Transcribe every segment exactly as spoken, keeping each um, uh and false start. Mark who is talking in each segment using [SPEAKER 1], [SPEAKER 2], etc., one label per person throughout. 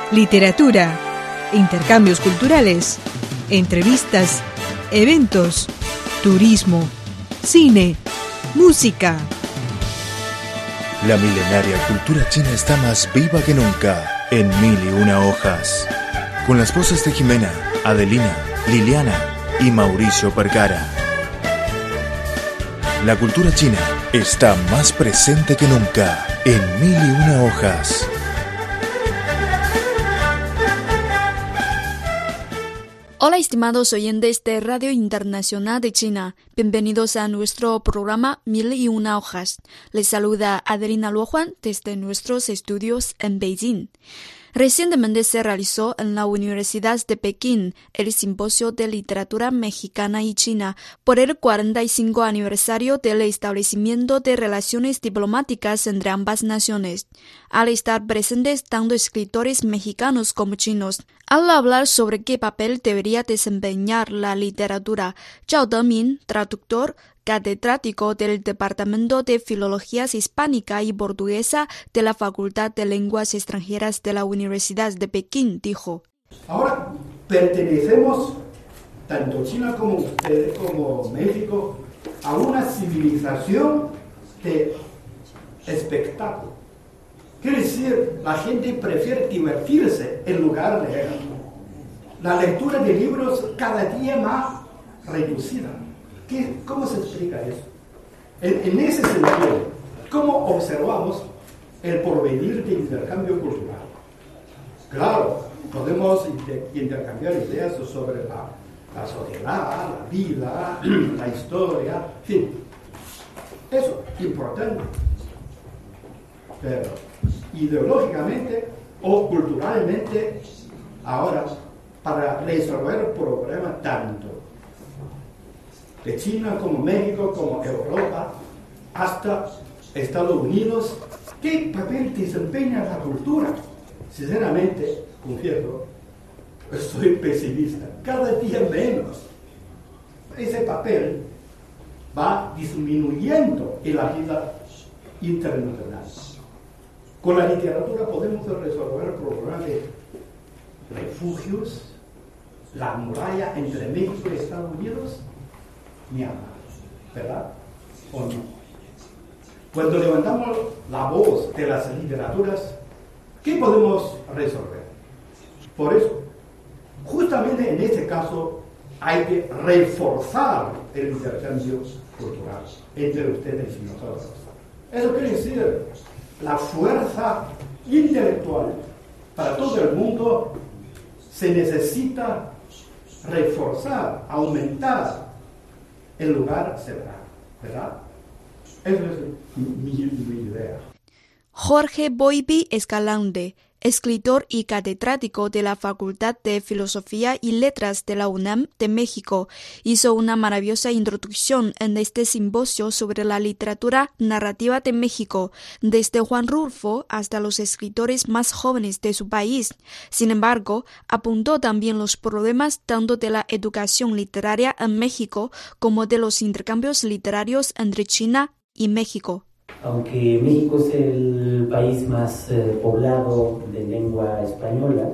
[SPEAKER 1] literatura, intercambios culturales, entrevistas, eventos, turismo, cine, música.
[SPEAKER 2] La milenaria cultura china está más viva que nunca en Mil y Una Hojas, con las voces de Jimena, Adelina, Liliana y Mauricio Percara. La cultura china está más presente que nunca en Mil y Una Hojas.
[SPEAKER 3] Hola estimados oyentes de Radio Internacional de China, bienvenidos a nuestro programa Mil y Una Hojas. Les saluda Adelina Luohuan desde nuestros estudios en Beijing. Recientemente se realizó en la Universidad de Pekín el Simposio de Literatura Mexicana y China por el cuarenta y cinco aniversario del establecimiento de relaciones diplomáticas entre ambas naciones. Al estar presentes tanto escritores mexicanos como chinos, al hablar sobre qué papel debería desempeñar la literatura, Zhao Demin, traductor, catedrático del Departamento de Filologías Hispánica y Portuguesa de la Facultad de Lenguas Extranjeras de la Universidad de Pekín, dijo:
[SPEAKER 4] Ahora pertenecemos, tanto China como ustedes, como México, a una civilización de espectáculo. Quiere decir, la gente prefiere divertirse en lugar de leer. La lectura de libros cada día más reducida. ¿Qué, ¿Cómo se explica eso? En, en ese sentido, ¿cómo observamos el porvenir de intercambio cultural? Claro, podemos inter, intercambiar ideas sobre la, la sociedad, la vida, la historia, en fin. Eso, importante. Pero ideológicamente o culturalmente, ahora, para resolver el problema tanto de China como México, como Europa, hasta Estados Unidos, ¿qué papel desempeña la cultura? Sinceramente, confieso, soy pesimista, cada día menos. Ese papel va disminuyendo en la vida internacional. Con la literatura podemos resolver el problema de refugios, la muralla entre México y Estados Unidos, ni hablar, ¿verdad? ¿O no? Cuando levantamos la voz de las literaturas, ¿qué podemos resolver? Por eso, justamente en este caso, hay que reforzar el intercambio cultural entre ustedes y nosotros. Eso quiere decir la fuerza intelectual para todo el mundo se necesita reforzar, aumentar en lugar de cerrar, ¿verdad? Esa es mi, mi idea.
[SPEAKER 3] Jorge Boibi Escalante, escritor y catedrático de la Facultad de Filosofía y Letras de la UNAM de México, hizo una maravillosa introducción en este simposio sobre la literatura narrativa de México, desde Juan Rulfo hasta los escritores más jóvenes de su país. Sin embargo, apuntó también los problemas tanto de la educación literaria en México como de los intercambios literarios entre China y México.
[SPEAKER 5] Aunque México es el país más eh, poblado de lengua española,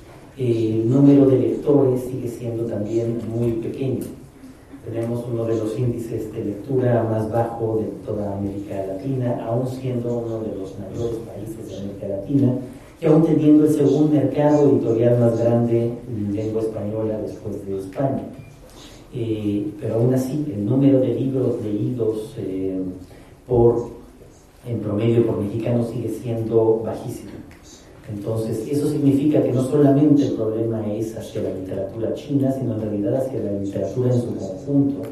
[SPEAKER 5] eh, el número de lectores sigue siendo también muy pequeño. Tenemos uno de los índices de lectura más bajo de toda América Latina, aún siendo uno de los mayores países de América Latina, y aún teniendo el segundo mercado editorial más grande en lengua española después de España. Eh, pero aún así, el número de libros leídos eh, por en promedio por mexicano sigue siendo bajísimo. Entonces, eso significa que no solamente el problema es hacia la literatura china, sino en realidad hacia la literatura en su conjunto,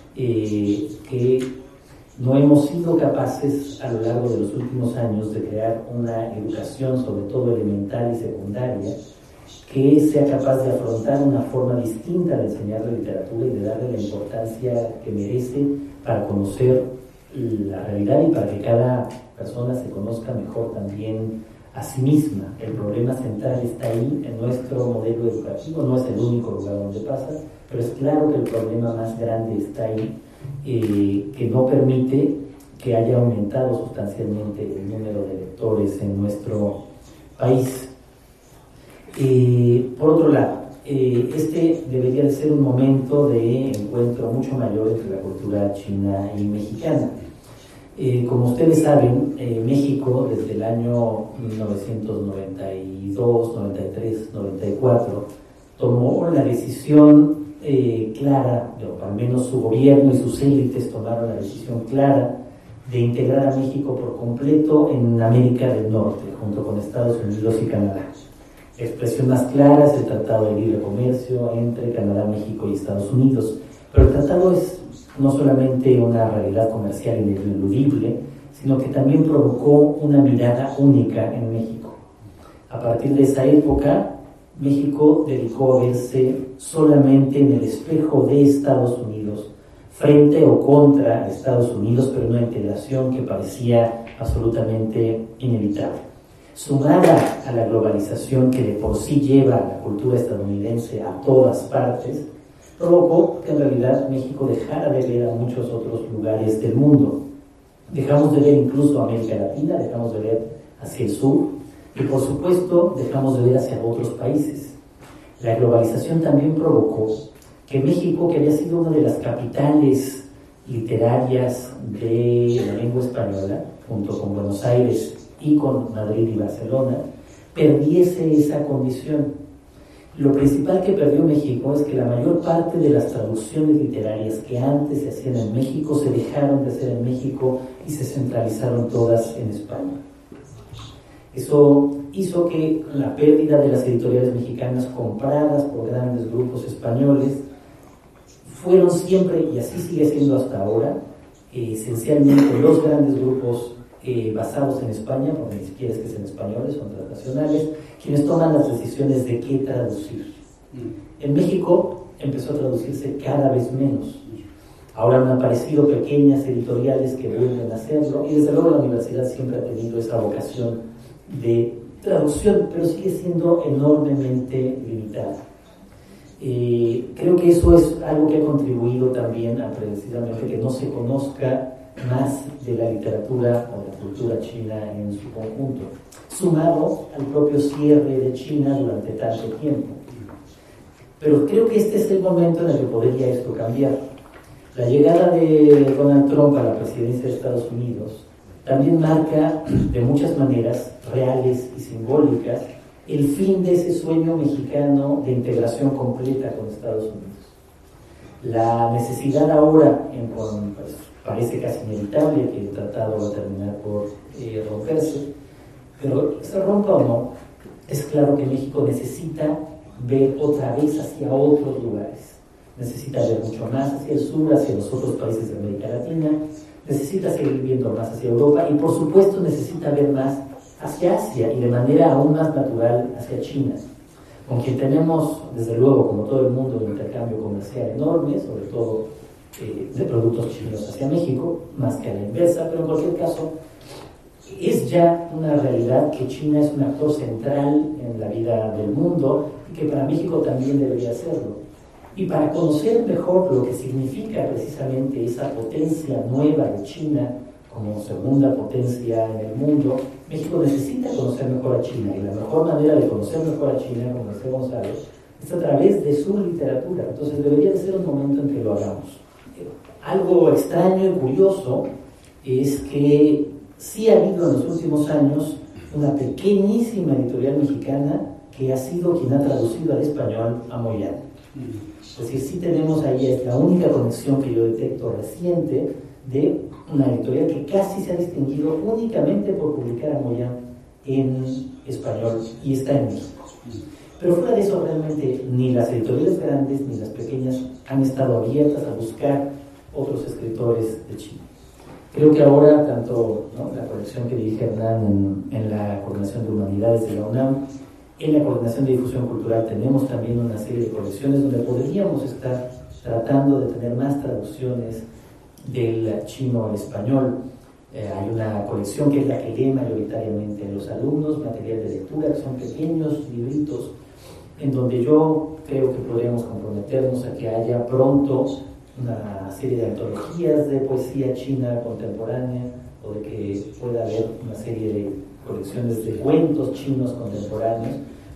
[SPEAKER 5] eh, que no hemos sido capaces a lo largo de los últimos años de crear una educación, sobre todo elemental y secundaria, que sea capaz de afrontar una forma distinta de enseñar la literatura y de darle la importancia que merece para conocer la realidad y para que cada persona se conozca mejor también a sí misma. El problema central está ahí en nuestro modelo educativo, no es el único lugar donde pasa, pero es claro que el problema más grande está ahí, eh, que no permite que haya aumentado sustancialmente el número de lectores en nuestro país. Eh, por otro lado, eh, este debería de ser un momento de encuentro mucho mayor entre la cultura china y mexicana. Eh, como ustedes saben, eh, México desde el año mil novecientos noventa y dos, noventa y tres, noventa y cuatro tomó la decisión eh, clara, o al menos su gobierno y sus élites tomaron la decisión clara de integrar a México por completo en América del Norte, junto con Estados Unidos y Canadá. La expresión más clara es el Tratado de Libre Comercio entre Canadá, México y Estados Unidos, pero el tratado es no solamente una realidad comercial ineludible, sino que también provocó una mirada única en México. A partir de esa época, México dedicó a verse solamente en el espejo de Estados Unidos, frente o contra Estados Unidos, pero una integración que parecía absolutamente inevitable. Sumada a la globalización que de por sí lleva a la cultura estadounidense a todas partes, provocó que en realidad México dejara de ver a muchos otros lugares del mundo. Dejamos de ver incluso a América Latina, dejamos de ver hacia el sur y por supuesto dejamos de ver hacia otros países. La globalización también provocó que México, que había sido una de las capitales literarias de la lengua española, junto con Buenos Aires y con Madrid y Barcelona, perdiese esa condición. Lo principal que perdió México es que la mayor parte de las traducciones literarias que antes se hacían en México se dejaron de hacer en México y se centralizaron todas en España. Eso hizo que la pérdida de las editoriales mexicanas compradas por grandes grupos españoles fueron siempre, y así sigue siendo hasta ahora, eh, esencialmente los grandes grupos eh, basados en España, porque ni siquiera es que sean españoles, son transnacionales, quienes toman las decisiones de qué traducir. En México empezó a traducirse cada vez menos. Ahora han aparecido pequeñas editoriales que vuelven a hacerlo, y desde luego la universidad siempre ha tenido esa vocación de traducción, pero sigue siendo enormemente limitada. Eh, creo que eso es algo que ha contribuido también a precisamente que no se conozca más de la literatura o la cultura china en su conjunto, sumado al propio cierre de China durante tanto tiempo. Pero creo que este es el momento en el que podría esto cambiar. La llegada de Donald Trump a la presidencia de Estados Unidos también marca de muchas maneras reales y simbólicas el fin de ese sueño mexicano de integración completa con Estados Unidos. La necesidad ahora, en, pues, parece casi inevitable que el tratado va a terminar por eh, romperse, pero se rompa o no, es claro que México necesita ver otra vez hacia otros lugares, necesita ver mucho más hacia el sur, hacia los otros países de América Latina, necesita seguir viendo más hacia Europa y por supuesto necesita ver más hacia Asia y de manera aún más natural hacia China, con quien tenemos, desde luego, como todo el mundo, un intercambio comercial enorme, sobre todo eh, de productos chinos hacia México, más que a la inversa, pero en cualquier caso es ya una realidad que China es un actor central en la vida del mundo y que para México también debería serlo. Y para conocer mejor lo que significa precisamente esa potencia nueva de China como segunda potencia en el mundo, México necesita conocer mejor a China, y la mejor manera de conocer mejor a China, como decía Gonzalo, es a través de su literatura. Entonces debería de ser un momento en que lo hagamos. Algo extraño y curioso es que sí ha habido en los últimos años una pequeñísima editorial mexicana que ha sido quien ha traducido al español a Moyano. Es decir, sí tenemos ahí, es la única conexión que yo detecto reciente de una editorial que casi se ha distinguido únicamente por publicar a Moyano en español y está en México. Pero fuera de eso, realmente ni las editoriales grandes ni las pequeñas han estado abiertas a buscar otros escritores de China. Creo que ahora, tanto ¿no? la colección que dirige Hernán en, en la Coordinación de Humanidades de la UNAM, en la Coordinación de Difusión Cultural tenemos también una serie de colecciones donde podríamos estar tratando de tener más traducciones del chino al español. Eh, hay una colección que es la que lee mayoritariamente los alumnos, material de lectura, que son pequeños libritos, en donde yo creo que podríamos comprometernos a que haya pronto una serie de antologías de poesía china contemporánea, o de que pueda haber una serie de colecciones de cuentos chinos contemporáneos,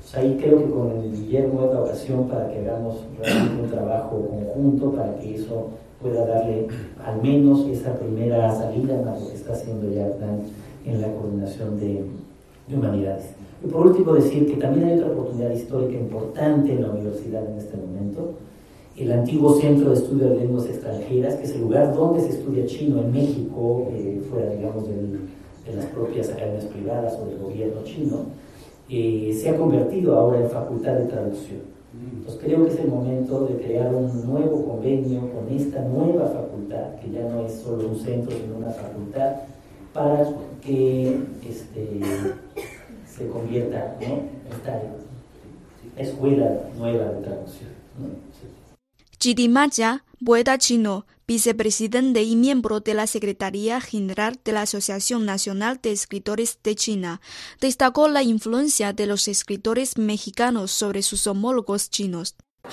[SPEAKER 5] Pues ahí creo que con el Guillermo es la ocasión para que hagamos realmente un trabajo conjunto para que eso pueda darle al menos esa primera salida a lo que está haciendo ya Hernán en la coordinación de, de humanidades. Y por último decir que también hay otra oportunidad histórica importante en la universidad en este momento, el antiguo Centro de Estudio de Lenguas Extranjeras, que es el lugar donde se estudia chino en México, eh, fuera, digamos, del, de las propias academias privadas o del gobierno chino, eh, se ha convertido ahora en facultad de traducción. Entonces creo que es el momento de crear un nuevo convenio con esta nueva facultad, que ya no es solo un centro, sino una facultad, para que este, se convierta, ¿no?, esta escuela nueva de traducción, ¿no? Sí.
[SPEAKER 3] Chidi Maya, poeta chino, vicepresidente y miembro de la Secretaría General de la Asociación Nacional de Escritores de China, destacó la influencia de los escritores mexicanos sobre sus homólogos chinos.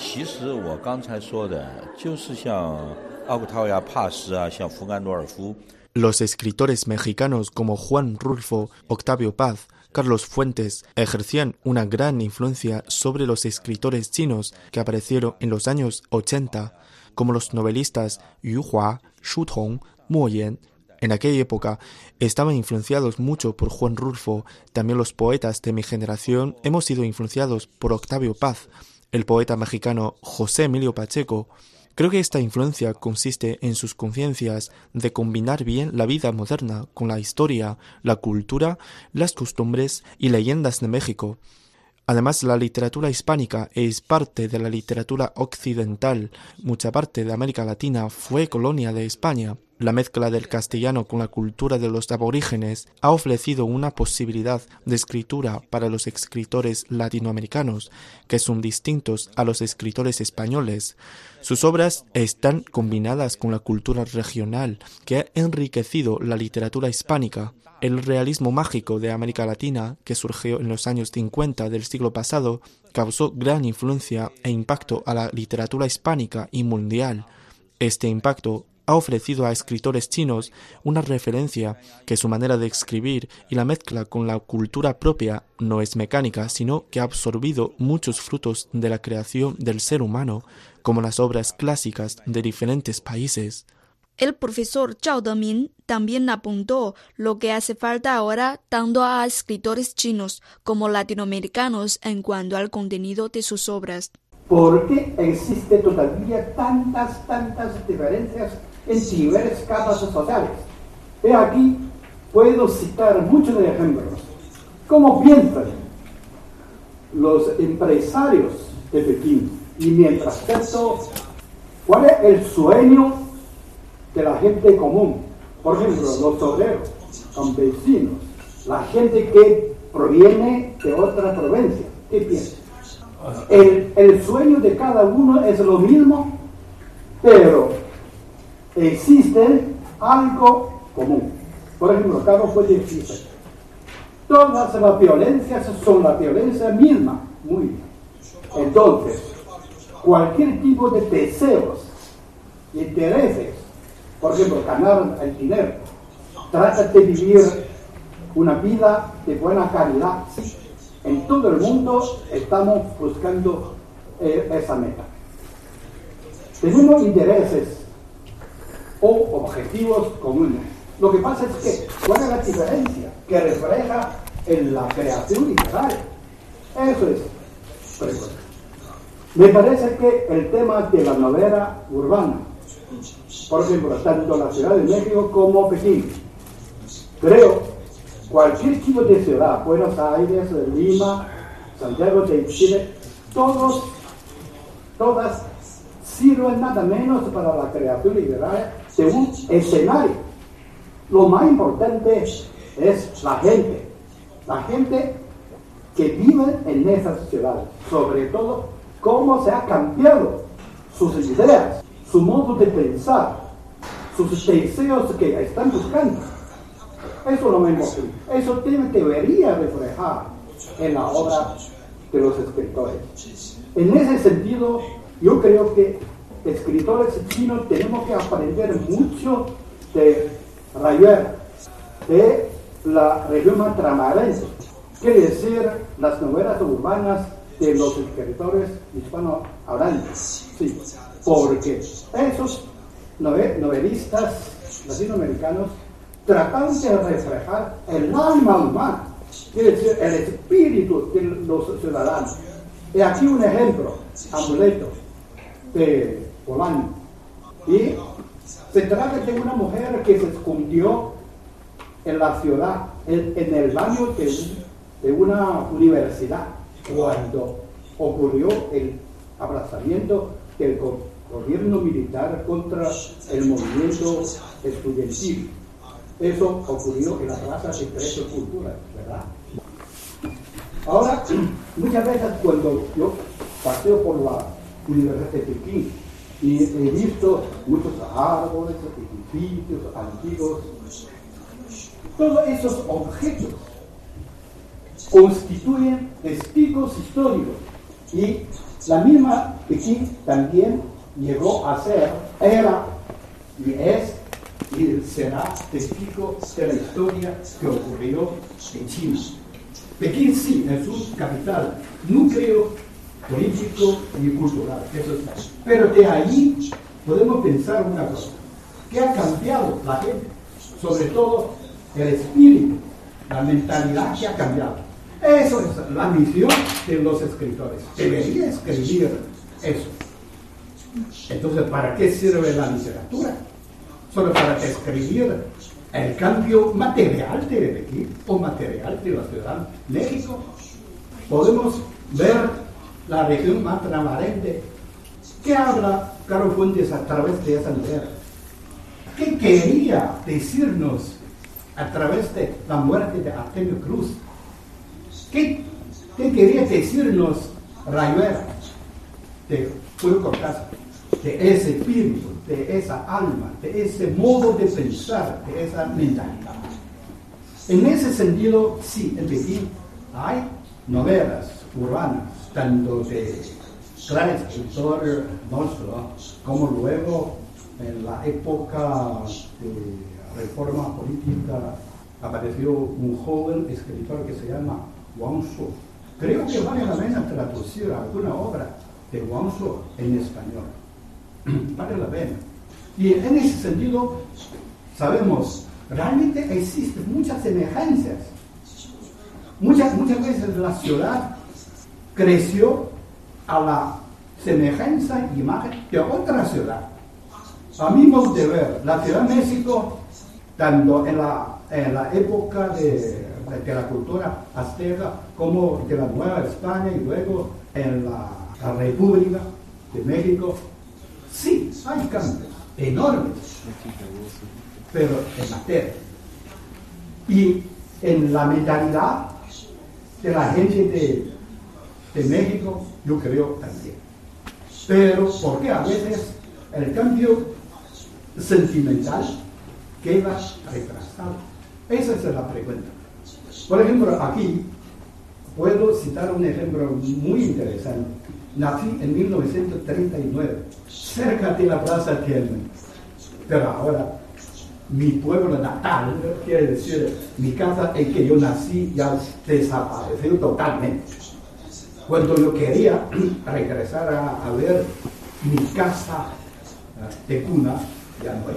[SPEAKER 2] Los escritores mexicanos como Juan Rulfo, Octavio Paz, Carlos Fuentes ejercían una gran influencia sobre los escritores chinos que aparecieron en los años ochenta, como los novelistas Yu Hua, Shu Tong, Mo Yan. En aquella época estaban influenciados mucho por Juan Rulfo. También los poetas de mi generación hemos sido influenciados por Octavio Paz, el poeta mexicano José Emilio Pacheco. Creo que esta influencia consiste en sus conciencias de combinar bien la vida moderna con la historia, la cultura, las costumbres y leyendas de México. Además, la literatura hispánica es parte de la literatura occidental. Mucha parte de América Latina fue colonia de España. La mezcla del castellano con la cultura de los aborígenes ha ofrecido una posibilidad de escritura para los escritores latinoamericanos que son distintos a los escritores españoles. Sus obras están combinadas con la cultura regional que ha enriquecido la literatura hispánica. El realismo mágico de América Latina, que surgió en los años cincuenta del siglo pasado, causó gran influencia e impacto a la literatura hispánica y mundial. Este impacto ha ofrecido a escritores chinos una referencia que su manera de escribir y la mezcla con la cultura propia no es mecánica, sino que ha absorbido muchos frutos de la creación del ser humano, como las obras clásicas de diferentes países.
[SPEAKER 3] El profesor Zhao Demin también apuntó lo que hace falta ahora tanto a escritores chinos como latinoamericanos en cuanto al contenido de sus obras.
[SPEAKER 4] ¿Por qué existen todavía tantas, tantas diferencias en diversas capas sociales? He aquí, puedo citar muchos ejemplos. ¿Cómo piensan los empresarios de Pekín? Y mientras tanto, ¿cuál es el sueño de la gente común? Por ejemplo, los obreros, campesinos, la gente que proviene de otra provincia. ¿Qué piensan? El, el sueño de cada uno es lo mismo, pero existe algo común. Por ejemplo, Carlos puede decir, todas las violencias son la violencia misma. Muy bien. Entonces, cualquier tipo de deseos, intereses, por ejemplo, ganar el dinero, trata de vivir una vida de buena calidad. En todo el mundo estamos buscando eh, esa meta. Tenemos intereses o objetivos comunes. Lo que pasa es que, ¿cuál es la diferencia que refleja en la creación literaria? Eso es. Me parece que el tema de la novela urbana, por ejemplo, tanto la Ciudad de México como Pekín, creo cualquier tipo de ciudad, Buenos Aires, Lima, Santiago de Chile, todos, todas sirven nada menos para la creación literaria de un escenario. Lo más importante es la gente, la gente que vive en esas ciudades, sobre todo cómo se ha cambiado sus ideas, su modo de pensar, sus deseos que están buscando. Eso no me importa. Eso debería reflejar en la obra de los escritores. En ese sentido, yo creo que escritores chinos tenemos que aprender mucho de Rayuela, de la región ultramarina, quiere decir las novelas urbanas de los escritores hispanohablantes. Sí, porque esos novelistas latinoamericanos tratan de reflejar el alma humana, quiere decir el espíritu de los ciudadanos. Y aquí un ejemplo, Amuleto, de Polanyi. Y se trata de una mujer que se escondió en la ciudad, en, en el baño de, de una universidad, cuando ocurrió el aplazamiento del go gobierno militar contra el movimiento estudiantil. Eso ocurrió en la Plaza de Trece Culturas, ¿verdad? Ahora, muchas veces cuando yo paseo por la Universidad de Pekín y he visto muchos árboles, edificios antiguos, todos esos objetos constituyen testigos históricos, y la misma Pekín también llegó a ser, era y es y será testigo de la historia que ocurrió en China. Pekín sí es su capital, núcleo político y cultural, eso está. Pero de ahí podemos pensar una cosa: ¿qué ha cambiado la gente? Sobre todo el espíritu, la mentalidad que ha cambiado. Eso es la misión de los escritores. Debería escribir eso. Entonces, ¿para qué sirve la literatura? Solo para escribir el cambio material de Pekín o material de la ciudad de México. Podemos ver la región más transparente. ¿Qué habla Carlos Fuentes a través de esa novela? ¿Qué quería decirnos a través de la muerte de Artemio Cruz? ¿Qué, qué quería decirnos Rayuela de Julio Cortázar? De ese espíritu, de esa alma, de ese modo de pensar, de esa mentalidad. En ese sentido, sí, en Pekín hay novelas urbanas, tanto de gran escritor nuestro, como luego en la época de reforma política apareció un joven escritor que se llama Wang Shuo. Creo que vale la pena traducir alguna obra de Wang Shuo en español. Vale la pena. Y en ese sentido, sabemos, realmente existen muchas semejanzas. Muchas, muchas veces la ciudad creció a la semejanza y imagen de otra ciudad. A mi modo de ver, la Ciudad de México, tanto en la, en la época de, de la cultura azteca como de la Nueva España y luego en la, la República de México, sí, hay cambios enormes, pero en materia. Y en la mentalidad de la gente de, de México, yo creo también. Pero, ¿por qué a veces el cambio sentimental queda retrasado? Esa es la pregunta. Por ejemplo, aquí puedo citar un ejemplo muy interesante. Nací en mil novecientos treinta y nueve, cerca de la Plaza Tiananmen. Pero ahora, mi pueblo natal, quiere decir, mi casa en que yo nací, ya desapareció totalmente. Cuando yo quería regresar a, a ver mi casa de cuna, ya no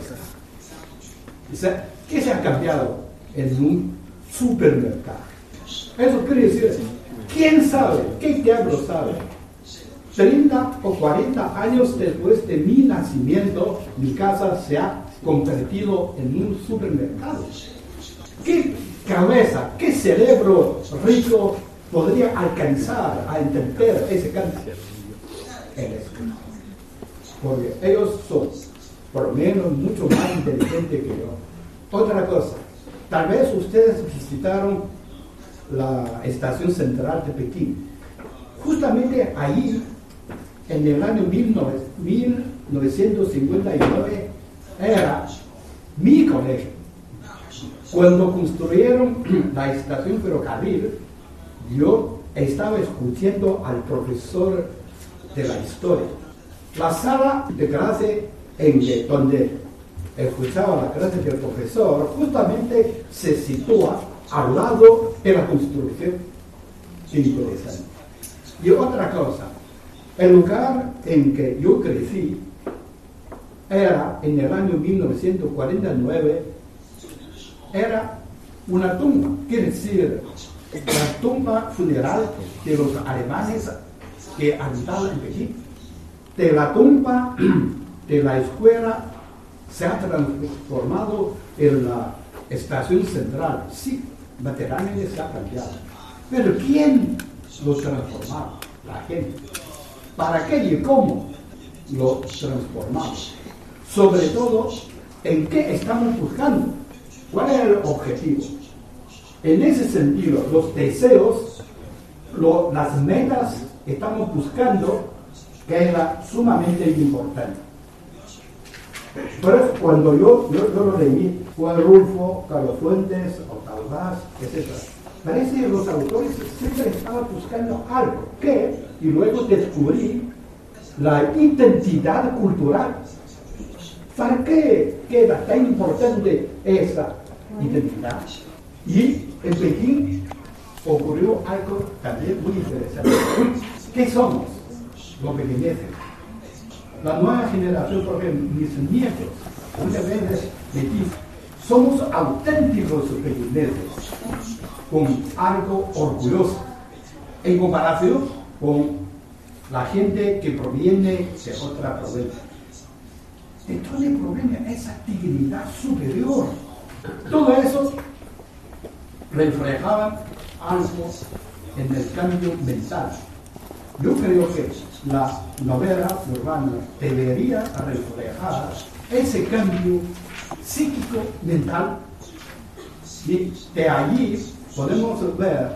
[SPEAKER 4] está. ¿Qué se ha cambiado en un supermercado? Eso quiere decir, ¿quién sabe? ¿Qué diablo sabe? treinta o cuarenta años después de mi nacimiento, mi casa se ha convertido en un supermercado. ¿Qué cabeza, qué cerebro rico podría alcanzar a entender ese cambio? El escritor. Porque ellos son, por lo menos, mucho más inteligentes que yo. Otra cosa, tal vez ustedes visitaron la estación central de Pekín. Justamente ahí, en el año mil novecientos cincuenta y nueve, era mi colegio. Cuando construyeron la estación ferrocarril, yo estaba escuchando al profesor de la historia. La sala de clase en que, donde escuchaba la clase del profesor, justamente se sitúa al lado de la construcción interesante. Y otra cosa, el lugar en que yo crecí era, en el año mil novecientos cuarenta y nueve, era una tumba, quiere decir, la tumba funeral de los alemanes que habitaban en Pekín. De la tumba de la escuela se ha transformado en la estación central. Sí, materialmente se ha cambiado. Pero ¿quién lo transformaba? La gente. ¿Para qué y cómo lo transformamos? Sobre todo, ¿en qué estamos buscando? ¿Cuál es el objetivo? En ese sentido, los deseos, lo, las metas que estamos buscando, que era sumamente importante. Por eso, cuando yo, yo, yo lo leí, Juan Rulfo, Carlos Fuentes, Octavio Paz, etcétera, parece que los autores siempre estaban buscando algo, que, y luego descubrí la identidad cultural. ¿Para qué queda tan importante esa identidad? Y en Pekín ocurrió algo también muy interesante. ¿Qué somos los pekineses? La nueva generación, porque mis nietos muchas veces me dicen, somos auténticos pekineses, con algo orgulloso, en comparación con la gente que proviene de otra provincia. ¿De dónde proviene esa dignidad superior? Todo eso reflejaba algo en el cambio mental. Yo creo que la novela urbana debería reflejar ese cambio psíquico mental, y de allí podemos ver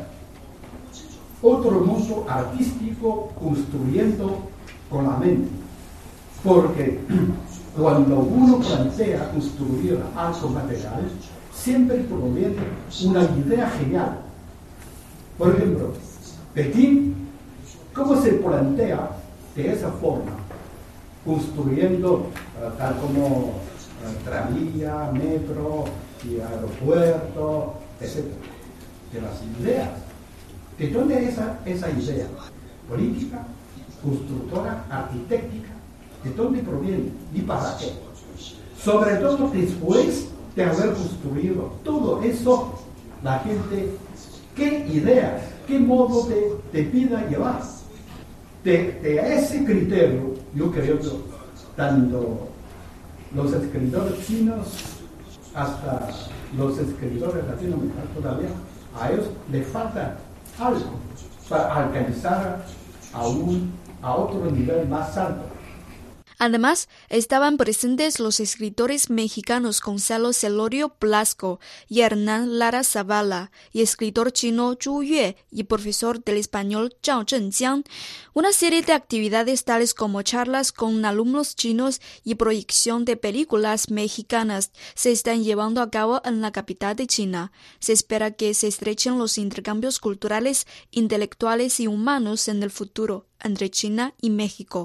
[SPEAKER 4] otro mundo artístico construyendo con la mente, porque cuando uno plantea construir algo material, siempre proviene una idea genial. Por ejemplo, Pekín, ¿cómo se plantea de esa forma? Construyendo uh, tal como uh, tranvía, metro y aeropuerto, etcétera. De las ideas. ¿De dónde es esa, esa idea? Política, constructora, arquitectónica. ¿De dónde proviene? ¿Y para qué? Sobre todo después de haber construido todo eso, la gente, ¿qué ideas, qué modo de, de vida llevar? De, de ese criterio, yo creo que tanto los escritores chinos hasta los escritores latinoamericanos todavía, a ellos les falta algo para alcanzar a, un, a otro nivel más alto.
[SPEAKER 3] Además, estaban presentes los escritores mexicanos Gonzalo Celorio Blasco y Hernán Lara Zavala, y escritor chino Zhu Yue y profesor del español Zhao Zhenjiang. Una serie de actividades tales como charlas con alumnos chinos y proyección de películas mexicanas se están llevando a cabo en la capital de China. Se espera que se estrechen los intercambios culturales, intelectuales y humanos en el futuro entre China y México.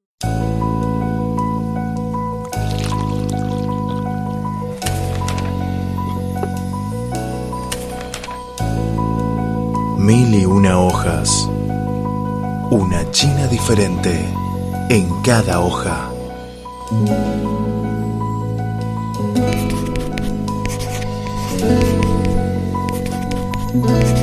[SPEAKER 2] Mil y una hojas. Una China diferente en cada hoja.
[SPEAKER 6] Thank you.